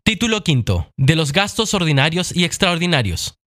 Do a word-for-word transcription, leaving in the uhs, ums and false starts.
Título quinto. De los gastos ordinarios y extraordinarios.